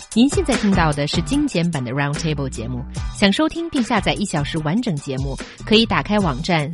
您现在听到的是精简版的 Roundtable 节目。想收听并下载1小时完整节目，可以打开网站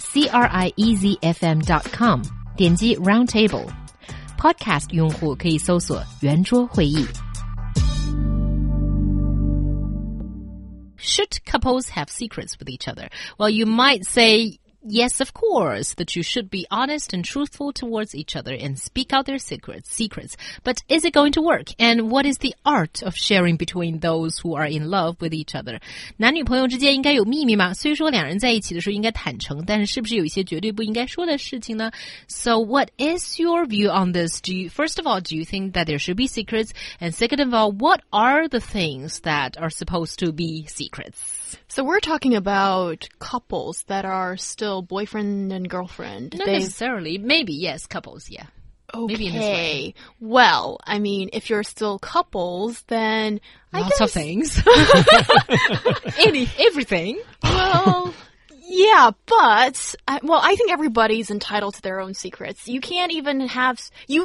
CRIEZFM.com， 点击 Roundtable。Podcast 用户可以搜索圆桌会议。Should couples have secrets with each other? Well, you might say, yes, of course, that you should be honest and truthful towards each other and speak out their secrets. But is it going to work? And what is the art of sharing between those who are in love with each other? 男女朋友之间应该有秘密吗？虽说两人在一起的时候应该坦诚，但是是不是有一些绝对不应该说的事情呢？ So what is your view on this? First of all, do you think that there should be secrets? And second of all, what are the things that are supposed to be secrets? So we're talking about couples that are still boyfriend and girlfriend. Not necessarily. Maybe, yes, couples, yeah. Okay. Maybe in this way. Well, I mean, if you're still couples, then Lots of things. Everything. Well, yeah, but I think everybody's entitled to their own secrets. You can't even have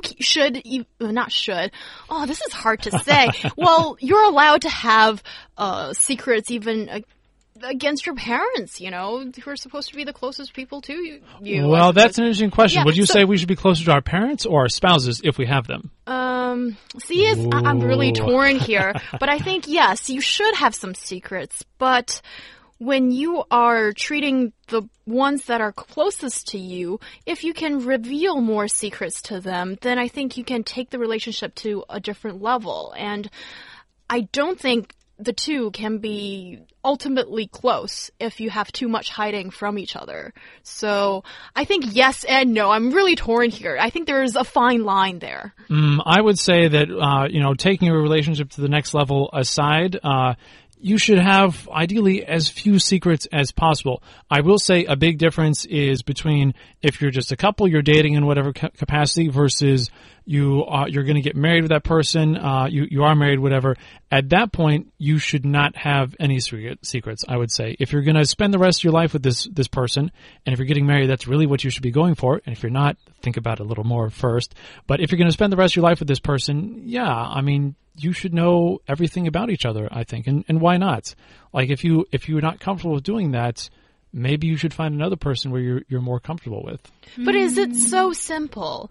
not should. Oh, this is hard to say. Well, you're allowed to have secrets even against your parents, you know, who are supposed to be the closest people to you. Well, that's an interesting question. Yeah, Would you say we should be closer to our parents or our spouses if we have them? I'm really torn here. But I think, yes, you should have some secrets. But when you are treating the ones that are closest to you, if you can reveal more secrets to them, then I think you can take the relationship to a different level. And I don't think the two can be ultimately close if you have too much hiding from each other. So I think yes and no. I'm really torn here. I think there's a fine line there. I would say that, taking a relationship to the next level aside, you should have, ideally, as few secrets as possible. I will say a big difference is between if you're just a couple, you're dating in whatever capacity, versus you're going to get married with that person, you are married, whatever. At that point, you should not have any secrets, I would say. If you're going to spend the rest of your life with this person, and if you're getting married, that's really what you should be going for. And if you're not, think about it a little more first. But if you're going to spend the rest of your life with this person, yeah, I mean, you should know everything about each other, I think. And why not? Like, if you're not comfortable with doing that, maybe you should find another person where you're more comfortable with. But is it so simple?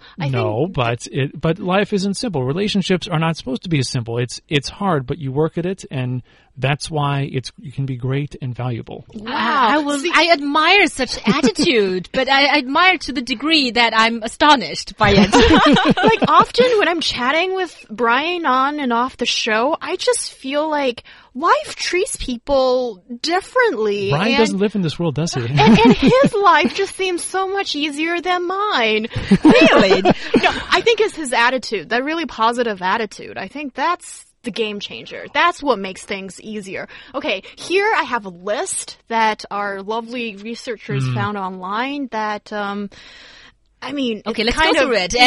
But life isn't simple. Relationships are not supposed to be simple. It's hard, but you work at it, and that's why you can be great and valuable. Wow. I admire such attitude, but I admire to the degree that I'm astonished by it. Like, often when I'm chatting with Brian on and off the show, I just feel like life treats people differently. Brian doesn't live in this world, does he? And his life just seems so much easier than mine. Really? No, I think it's his attitude, that really positive attitude. I think that's the game changer. That's what makes things easier. Okay, here I have a list that our lovely researchers found online that, okay, let's go through it.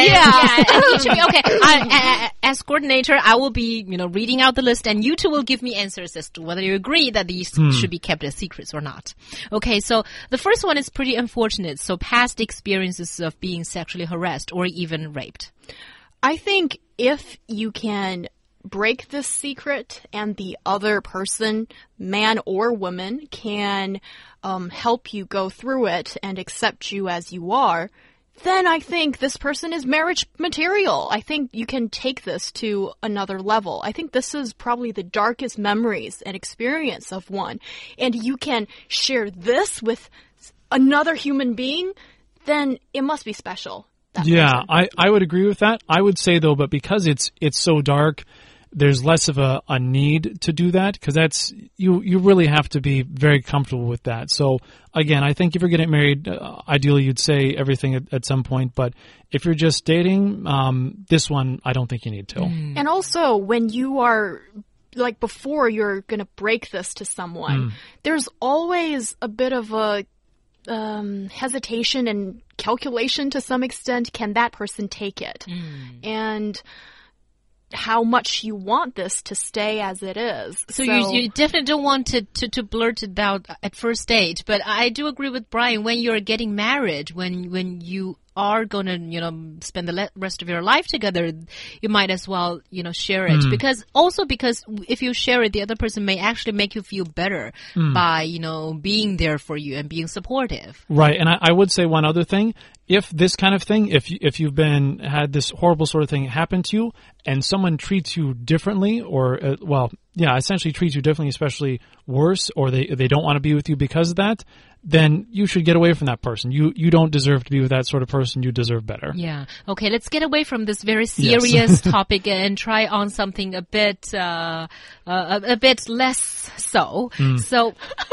As coordinator, I will be, reading out the list, and you two will give me answers as to whether you agree that these should be kept as secrets or not. Okay, so the first one is pretty unfortunate. So past experiences of being sexually harassed or even raped. I think if you can break this secret and the other person, man or woman, can help you go through it and accept you as you are, then I think this person is marriage material. I think you can take this to another level. I think this is probably the darkest memories and experience of one. And you can share this with another human being, then it must be special. Yeah, I would agree with that. I would say, though, but because it's so dark, there's less of a need to do that, because that's you really have to be very comfortable with that. So again, I think if you're getting married, ideally you'd say everything at some point. But if you're just dating, this one I don't think you need to. And also, when you are before you're going to break this to someone, there's always a bit of a hesitation and calculation to some extent. Can that person take it? And how much you want this to stay as it is. So you definitely don't want to blurt it out at first date. But I do agree with Brian. When you're getting married, when you are going to, spend the rest of your life together, you might as well, share it. Because if you share it, the other person may actually make you feel better by, being there for you and being supportive. Right. And I would say one other thing. If this kind of thing, if you've had this horrible sort of thing happen to you and someone treats you differently or, essentially treats you differently, especially worse, or they don't want to be with you because of that, then you should get away from that person. You don't deserve to be with that sort of person. You deserve better. Yeah. Okay, let's get away from this very serious topic and try on something a bit less so. So,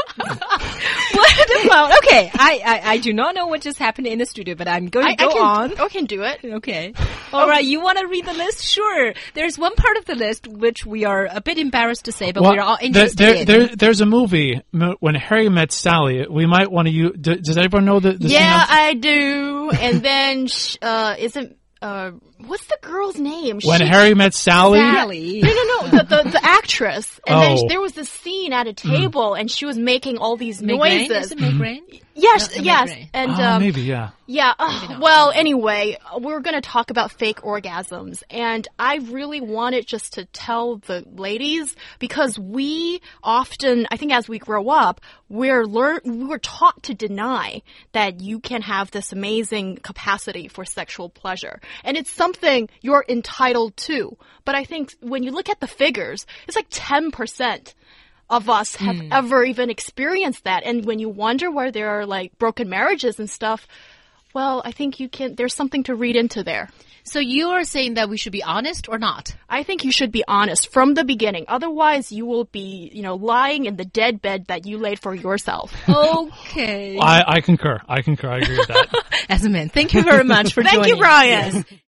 what about, okay, I do not know what just happened in the studio, but I'm going to go on. I can do it. Okay. All right, you want to read the list? Sure. There's one part of the list which we are a bit embarrassed to say, but we're all interested in. There's a movie, When Harry Met Sally. We might want to use. Does everyone know the Yeah, I do. And then, isn't what's the girl's name? When Harry Met Sally? Sally. No. The actress. And then there was this scene at a table, and she was making all these noises. Is it Meg Ryan? Yes. Meg And maybe, yeah. Yeah. Well, anyway, we're going to talk about fake orgasms, and I really wanted just to tell the ladies, because we often, I think, as we grow up, we're taught to deny that you can have this amazing capacity for sexual pleasure, and it's something you're entitled to. But I think when you look at the figures, it's like 10% of us have ever even experienced that. And when you wonder where there are like broken marriages and stuff, well, I think there's something to read into there. So you're saying that we should be honest or not? I think you should be honest from the beginning. Otherwise, you will be, lying in the dead bed that you laid for yourself. Okay. I concur. I agree with that. As a man, thank you very much for joining. Thank you, Brian. Yes.